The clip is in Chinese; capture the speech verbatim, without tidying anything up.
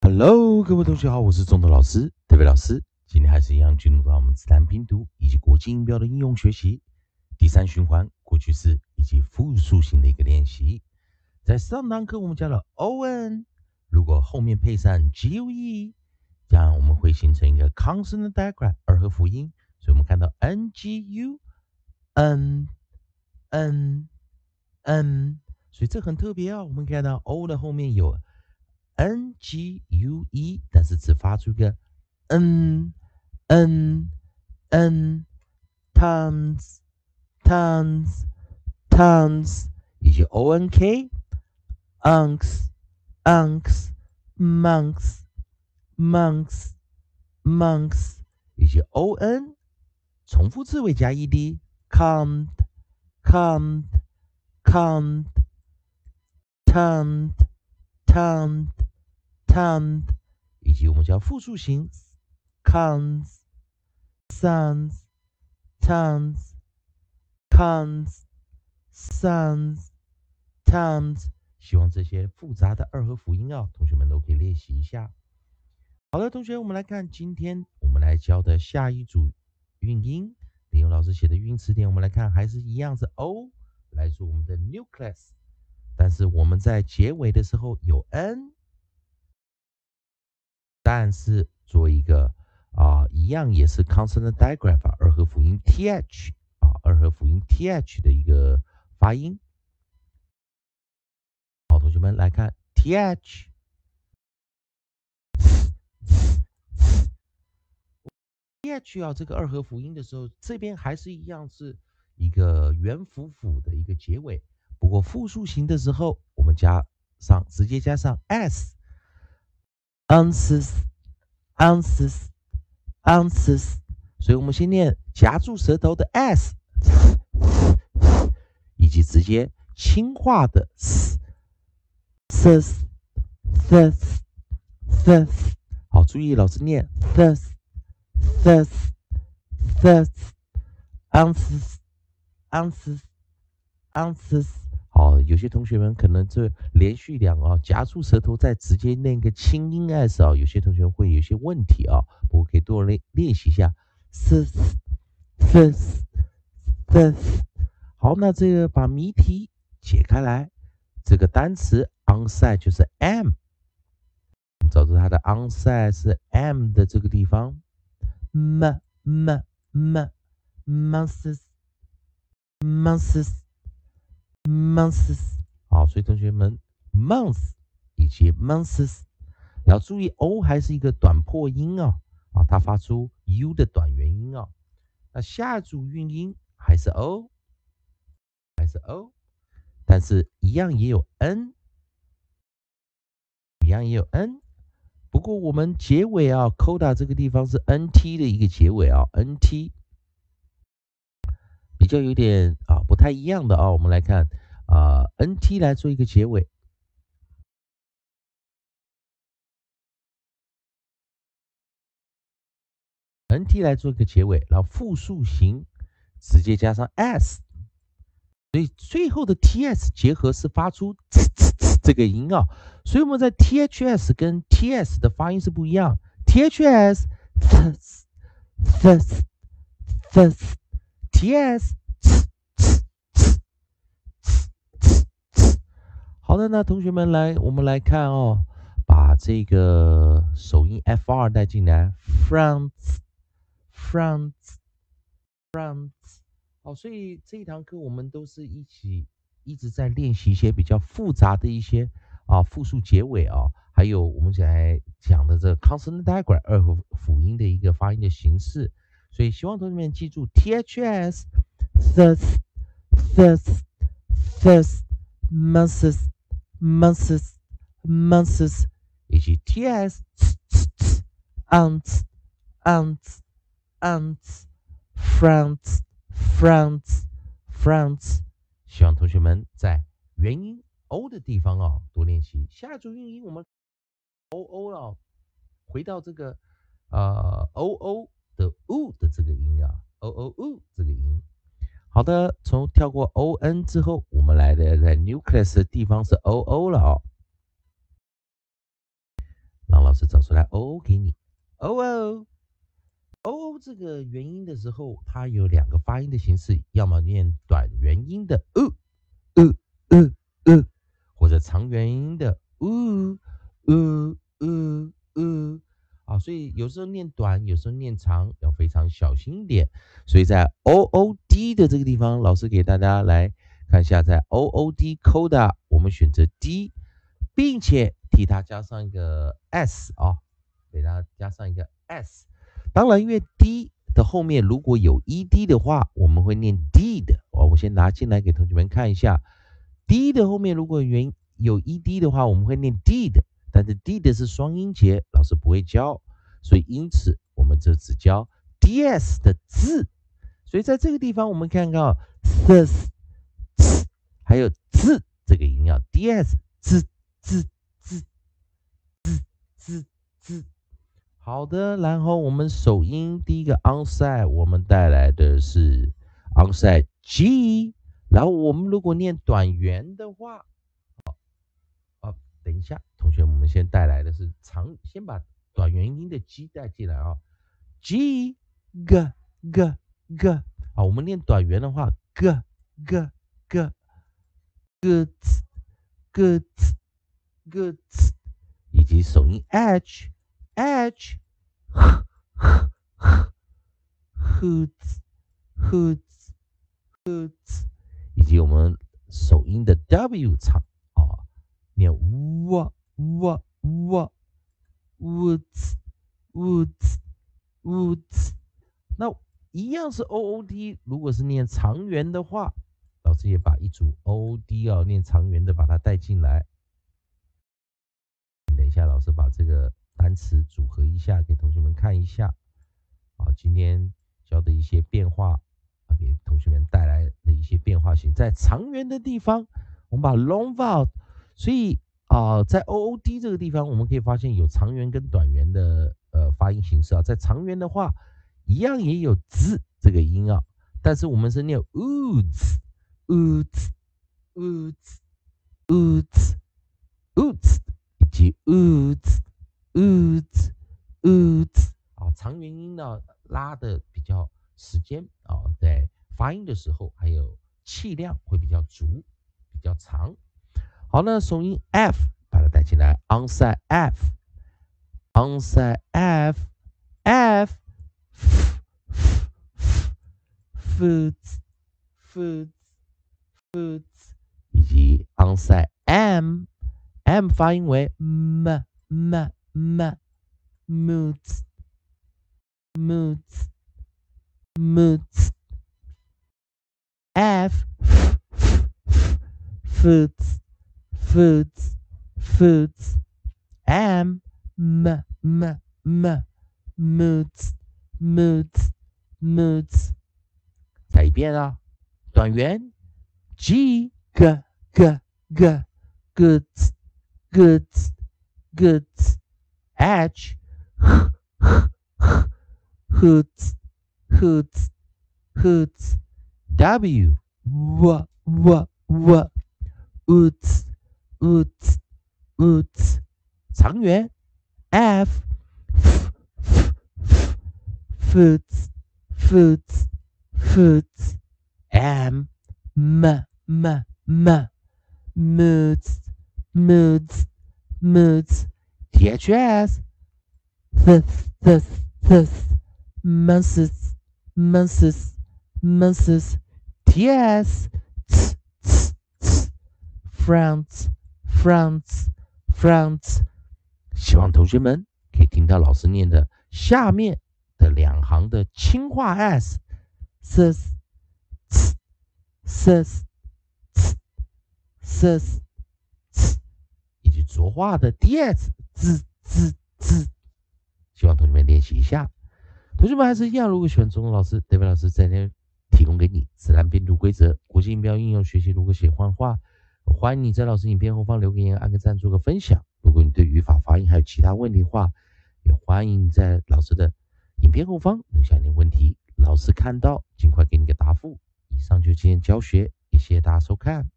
Hello，各位同学好，我是中头老师，特别老师。今天还是一样进入到我们自然拼读以及国际音标的应用学习第三循环过去式以及复数型的一个练习。在上堂课我们教了 on， 如果后面配上 gue， 这样我们会形成一个 consonant diagram 二合辅音，所以我们看到 ngu n n n， 所以这很特别啊。我们看到 o 的后面有 n g u e， 但是只发出一个 n n n tons tons tons， 以及 o n k unks unks monks monks monks， 以及 o n 重复字尾加 ed count count count turned turned turned， 以及我们叫复数形 cons sons tons cons sons tons。 希望这些复杂的二合辅音啊，同学们都可以练习一下。好的，同学，我们来看今天我们来教的下一组韵音，利用老师写的韵词典，我们来看还是一样是 o 来做我们的 nucleus， 但是我们在结尾的时候有 n， 但是做一个啊、呃，一样也是 consonant digraph 二合辅音 th 啊，二合辅音 th 的一个发音。好，同学们来看 th。th 啊，这个二合辅音的时候，这边还是一样是一个元辅辅的一个结尾。不过复数型的时候，我们加上直接加上 s ounces ounces ounces， 所以我们先念夹住舌头的 s， 以及直接轻化的 s thus thus thus。 好，注意老师念 thus thus thus ounces ounces ounces。 好，有些同学们可能这连续两啊夹住舌头再直接念个轻音 s 啊，有些同学会有些问题啊，不过可以多练练习一下 thus thus thus。 好，那这个把谜题解开来，这个单词 onside 就是 m， 我们找出它的 onside 是 m 的这个地方 m m m months months months。 好，所以同学们 month 以及 months 要注意 o 还是一个短破音啊，啊，它发出 u 的短元音啊。那下组韵音还是 o 还是 o， 但是一样也有 n， 一样也有 n。 不过我们结尾啊 coda 这个地方是 nt 的一个结尾啊 nt 比较有点啊不太一样的啊。我们来看啊 nt 来做一个结尾， nt 来做一个结尾，然后复数形直接加上 s， 所以最后的 ts 结合是发出呲呲呲这个音啊，所以我们在 ths 跟 ts 的发音是不一样。 ths thus thus thus ts。 好的，那同学们来，我们来看哦，把这个首音 fr 带进来 ，front front front。 好，所以这一堂课我们都是一起一直在练习一些比较复杂的一些啊复数结尾啊，还有我们现在讲的这个 consonant diagram 二合辅音的一个发音的形式。所以希望同学们记住 ths thus thus thus months months months， 以及 ts aunts aunts aunts fronts fronts fronts。 希望同学们在元音 o 的地方啊多练习。下一组韵音我们 oo 了，回到这个呃 oo 的 u 的这个音啊 oo u 这个音。好的，从跳过 on 之后，我们来的在 nucleus 的地方是 oo 了啊、哦。让老师师找出来 O 给你。O O O 这个元音的时候，它有两个发音的形式，要么念短元音的呃呃呃呃，或者长元音的呃呃呃呃。啊，所以有时候念短，有时候念长，要非常小心一点。所以在 O O D 的这个地方，老师给大家来看一下，在 O O D coda 我们选择 D， 并且替它加上一个 S 啊，给它加上一个 S。当然，因为 D 的后面如果有 E D 的话，我们会念 D 的。哦，我先拿进来给同学们看一下 ，D 的后面如果元有 E D 的话，我们会念 D 的。但是 D 的是双音节，老师不会教，所以因此我们这只教 D S 的字。所以在这个地方我们看到 S、S 还有字这个音要 D S 字字字字字字。好的，然后我们首音第一个 onside 我们带来的是 onside G， 然后我们如果念短元的话。等一下，同学，我们先带来的是长，先把短元音的 G 带进来啊 ，G G G G， 啊，我们念短元的话 ，G G G G G G， 以及首音 H H H H H H， 以及我们首音的 W 长啊。念哇哇哇 woods woods woods， 那一样是 O O D， 如果是念长元的话，老师也把一组 O O D 啊念长元的把它带进来。等一下，老师把这个单词组合一下，给同学们看一下。啊，今天教的一些变化啊，给同学们带来的一些变化性，在长元的地方，我们把 long vowel。所以啊、呃，在 O O D 这个地方，我们可以发现有长元跟短元的呃发音形式啊。在长元的话，一样也有 z 这个音啊，但是我们是念 oods oods oods oods oods 以及 oods oods oods 啊，长元音呢拉的比较时间啊，在发音的时候还有气量会比较足，比较长。好，那首音 F 把它带进来 ，onside F onside F F foods foods foods， 以及 onside M M 发音为 m m m moods moods moods F foods foods foods M m m m moods moods moods。再一遍啊，短元 G G G G goods goods goods H hoods hoods hoods W w w w woods woods woods 长元 F foods foods foods M m m m moods moods moods T H S th th th months months months T S t t t France France France。 希望同学们可以听到老师念的下面的两行的轻化 s s s s s s 以及浊化的 ds z z z。 希望同学们练习一下。同学们还是一样，如果喜欢中文老师 David 老师在这提供给你自然拼读规则、国际音标应用学习，如果喜欢的话，欢迎你在老师影片后方留个言、按个赞、做个分享。如果你对语法、发音还有其他问题的话，也欢迎你在老师的影片后方留下你的问题，老师看到尽快给你个答复。以上就是今天教学，也谢谢大家收看。